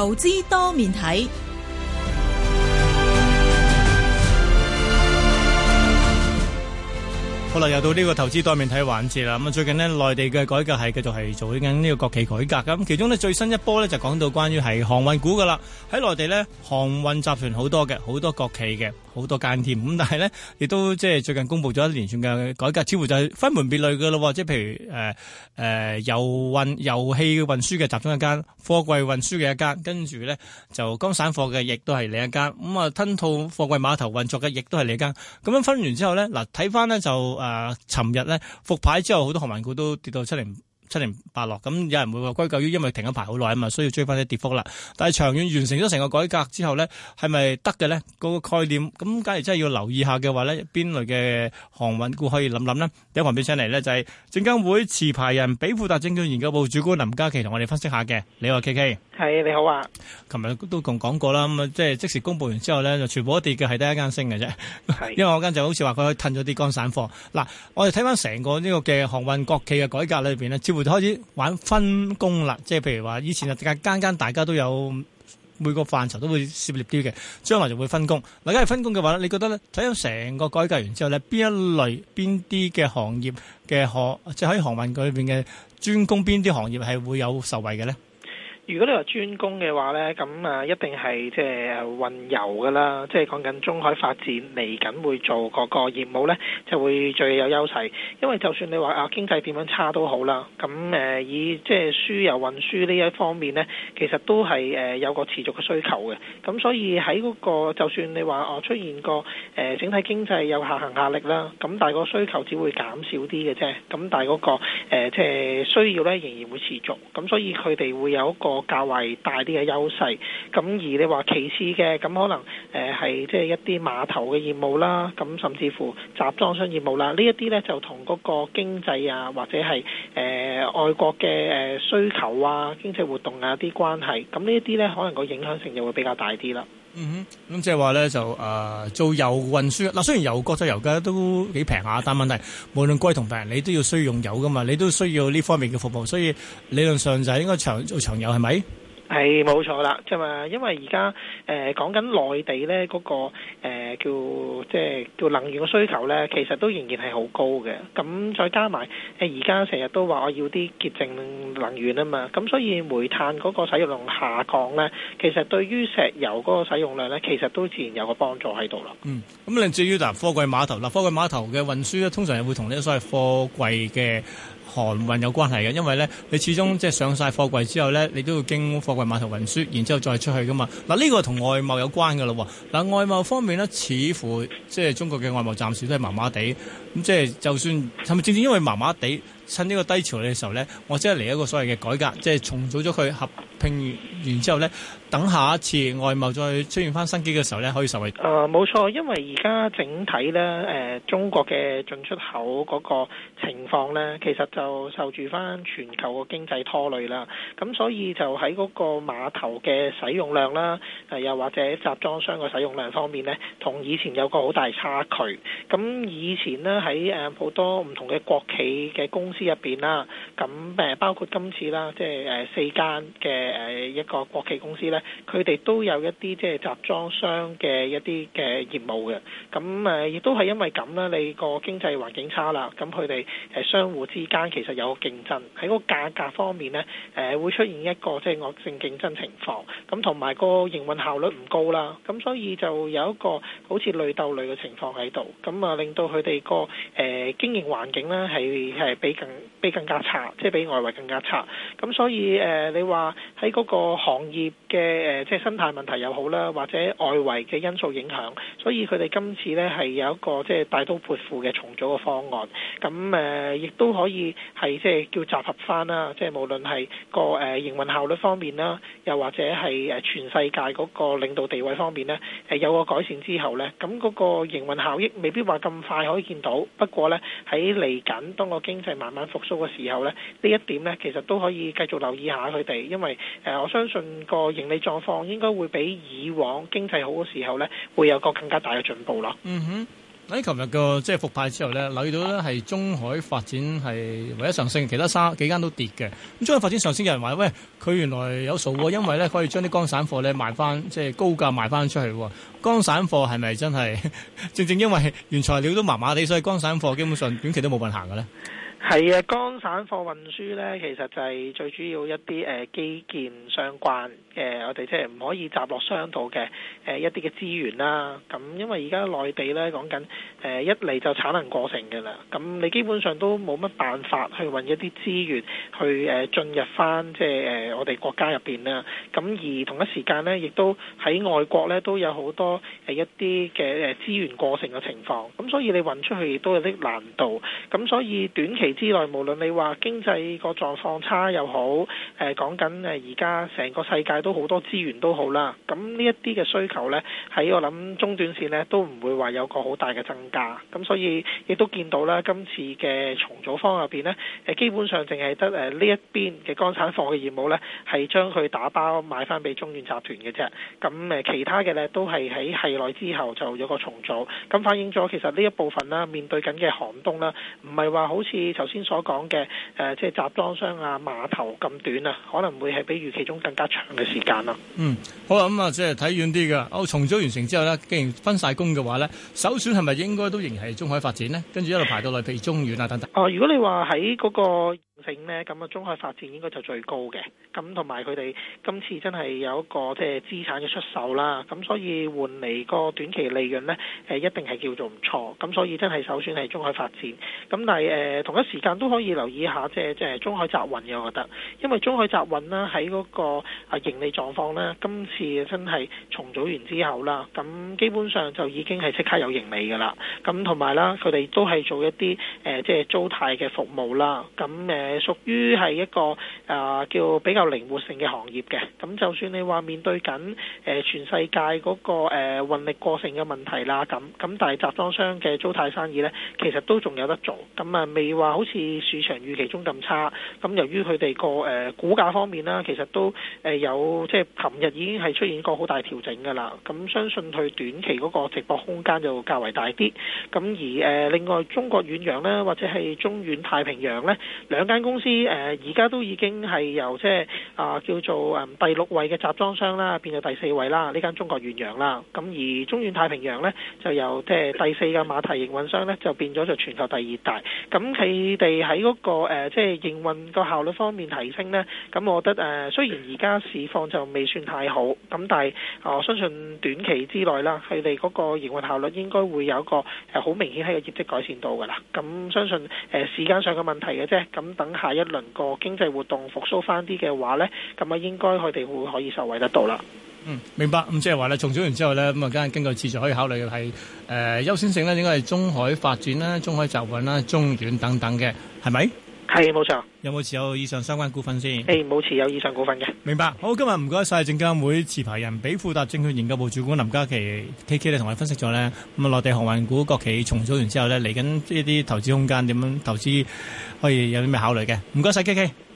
投資多面睇。 好啦，又到呢個投資多面睇環節啦。咁啊，最近呢，內地嘅改革係繼續係做緊呢個國企改革。咁其中呢，最新一波呢，就講到關於係航運股噶啦。喺內地呢，航運集團好多嘅，好多國企嘅，好多間添。咁但係呢，亦都即係最近公布咗一連串嘅改革，似乎就係分門別類噶咯。即係譬如油氣運輸嘅集中一間，貨櫃運輸嘅一間，跟住呢，就乾散貨嘅亦都係另一間。咁啊，吞吐貨櫃碼頭運作嘅亦都係另一間。咁樣分完之後呢，嗱睇翻呢就。尋日咧復牌之後，好多航運股都跌到七零八落，咁有人會話歸咎於因為停咗牌好耐啊嘛，需要追翻啲跌幅啦。但係長遠完成咗成個改革之後咧，係咪得嘅咧？嗰個概念咁，假如真係要留意下嘅話咧，邊類嘅航運股可以諗諗呢？第一旁邊請嚟咧就係證監會持牌人比富達證券研究部主管林嘉琪同我哋分析下嘅。你好 KK， 係你好啊。 琴日都共講過啦，咁啊即係即時公佈完之後咧，就全部都跌嘅，係得一間升嘅啫。因為我間就好似話佢可以褪咗啲乾散貨。嗱，我哋睇翻成個呢個嘅航運國企嘅改革裏邊呢，似乎就開始玩分工啦。即係譬如話，以前啊間大家都有每個範疇都會涉獵啲嘅，將來就會分工。嗱，假如分工嘅話咧，你覺得咧睇咗成個改革完之後咧，邊一類邊啲嘅行業嘅即係喺航運裏邊嘅專攻邊啲行業係會有受惠嘅咧？ 如果你話專攻嘅話呢，咁啊一定係即係運油噶啦，即係講緊中海發展嚟緊會做嗰個業務呢，就會最有優勢。因為就算你話經濟點樣差都好啦，咁以即係輸油運輸呢一方面呢，其實都係有個持續嘅需求嘅。咁所以喺嗰個就算你話出現個整體經濟有下行壓力啦，咁但係個需求只會減少啲嘅啫。咁但係嗰個即係需要呢，仍然會持續。咁所以佢哋會有一個較為大啲嘅優勢，咁而你話其次嘅，咁可能係即係一啲碼頭嘅業務啦，咁甚至乎集裝箱業務啦，呢一啲呢就同嗰個經濟啊，或者係外國嘅需求啊、經濟活動啊啲關係，咁呢一啲呢可能個影響性就會比較大啲啦。 咁即係話咧就做油運輸嗱，雖然油國際油價都幾平下，但問題無論貴同平，你都要需要用油噶嘛，你都需要呢方面嘅服務，所以理論上就係應該做長油係咪？係冇錯啦，即係話因為而家講緊內地咧嗰個叫能源嘅需求咧，其實都仍然係好高嘅。咁再加埋而家成日都話我要啲潔淨能源啊嘛，咁所以煤炭嗰個使用量下降咧，其實對於石油嗰個使用量咧，其實都自然有個幫助喺度啦。 咁你至於貨櫃碼頭貨櫃碼頭嘅運輸咧，通常係會同呢個所謂貨櫃嘅航運有關係嘅，因為咧你始終即係上晒貨櫃之後咧，你都要經貨櫃碼頭運輸，然之後再出去噶嘛。嗱，呢個同外貿有關噶咯。嗱，外貿方面咧，似乎即係中國嘅外貿暫時都係麻麻地。咁即係就算係咪正正因為麻麻地，趁呢個低潮嘅時候咧，我即係嚟一個所謂嘅改革，即係重組咗佢合併完之後咧，等下一次外貿再出現翻新機嘅時候咧，可以受惠。 冇錯，因為而家整體咧中國嘅進出口嗰個情況咧，其實就受住翻全球個經濟拖累啦。咁所以就喺嗰個碼頭嘅使用量啦，又或者集裝箱嘅使用量方面咧，同以前有個好大差距。咁以前呢，喺好多唔同嘅國企嘅公司入邊啦，咁包括今次啦，即係4間嘅一個國企公司咧，佢哋都有一啲即係集裝箱嘅一啲嘅業務嘅。咁亦都係因為咁啦，你個經濟環境差啦，咁佢哋相互之間其實有個競爭，喺個價格方面呢，會出現一個即係惡性競爭情況。咁同埋個營運效率唔高啦，咁所以就有一個好似類鬥類嘅情況喺度，咁啊令到佢哋個經營環境呢係比更加差，即係比外圍更加差。咁所以你話喺嗰個行業嘅即係生態問題又好啦，或者外圍嘅因素影響，所以佢哋今次呢係有一個即係大刀闊斧嘅重組嘅方案。咁亦都可以係即係叫集合翻啦，即係無論係個營運效率方面啦，又或者係全世界嗰個領導地位方面呢，有個改善之後呢，咁嗰個營運效益未必話咁快可以見到。不過呢，喺嚟緊當個經濟慢慢復甦嘅時候呢，呢一點呢其實都可以繼續留意下佢哋，因為我相信個盈利狀況應該會比以往經濟好嘅時候呢會有個更加大嘅進步咯。 喺琴日個即係復牌之後咧，留意到咧係中海發展係唯一上升，其他幾間都跌嘅。咁中海發展上升，有人話喂，佢原來有數喎，因為咧可以將啲乾散貨咧賣翻，即係高價賣翻出去喎。乾散貨係咪真係正正因為原材料都麻麻地，所以乾散貨基本上短期都冇運行嘅咧？ 係啊，乾散貨運輸咧，其實就係最主要一啲基建相關我哋即係唔可以集落商度嘅一啲嘅資源啦。咁因為而家內地咧講緊一嚟就產能過剩嘅啦，咁你基本上都冇乜辦法去運一啲資源去進入翻即係我哋國家入邊啦。咁而同一時間咧，亦都喺外國咧都有好多一啲嘅資源過剩嘅情況，咁所以你運出去亦都有啲難度。咁所以短期之內，無論你話經濟個狀況差又好，講緊而家成個世界都好多資源都好啦，咁呢一啲嘅需求呢，喺我諗中短線呢都唔會話有個好大嘅增加，咁所以亦都見到啦，今次嘅重組方案入邊呢，基本上淨係得呢一邊嘅乾散貨嘅業務呢，係將佢打包買翻俾中遠集團嘅啫，咁其他嘅呢，都係喺系內之後就有個重組，咁反映咗其實呢一部分啦，面對緊嘅寒冬啦，唔係話好似頭先所講嘅即係集裝箱啊碼頭咁短啊，可能會係比預期中更加長嘅時間啦。 好啦，咁即係睇遠啲嘅。重組完成之後呢，既然分晒工嘅話呢，首選係咪應該都仍係中海發展呢？跟住一路排到嚟，譬如中遠啊等等。 如果你話喺嗰個性呢，咁啊中海發展應該就最高嘅。咁同埋佢哋今次真係有一個即係資產嘅出售啦，咁所以換嚟個短期利潤呢，一定係叫做唔錯。咁所以真係首選係中海發展。咁但係同一時間都可以留意一下即係中海集運嘅，我覺得，因為中海集運啦喺嗰個盈利狀況呢，今次真係重組完之後啦，咁基本上就已經係即刻有盈利㗎啦。咁同埋啦，佢哋都係做一啲即係租貸嘅服務啦。咁屬於係一個叫比較靈活性嘅行業嘅。咁就算你話面對緊全世界嗰個運力過剩嘅問題啦，咁但係集裝箱嘅租貸生意呢，其實都仲有得做。咁未話好似市場預期中咁差。咁由於佢哋個股價方面啦，其實都有即係琴日已經係出現過好大調整㗎啦。咁相信佢短期嗰個直播空間就較為大啲。咁而另外中國遠洋呢，或者係中遠太平洋呢，兩間公司而家都已經係由即係叫做第6位嘅集裝箱啦，變到第4位啦。呢間中國遠洋啦。咁而中遠太平洋呢，就由即係第4嘅馬蹄營運商呢，就變咗就全球第2大。咁佢哋喺嗰個即係營運個效率方面提升呢，咁我覺得雖然而家市況就未算太好，咁但係我相信短期之內啦，佢哋嗰個營運效率應該會有一個好明顯喺個業績改善到㗎啦。咁相信時間上嘅問題嘅啫。咁等下一輪個經濟活動復甦翻啲嘅話呢，咁應該佢哋會可以受惠得到啦。 明白。咁即係話咧，重組完之後咧，咁梗係根據次序可以考慮係優先性咧，應該係中海發展啦、中海集運啦、中遠等等嘅，係咪？係，冇錯。有冇持有以上相關股份先？冇持有以上股份嘅。明白。好，今日唔該晒證監會持牌人比富達證券研究部主管林嘉琪 KK 咧，同我哋分析咗咧，咁內地航運股國企重組完之後咧，嚟緊呢啲投資空間點樣投資可以有啲咩考慮嘅？唔該晒 KK。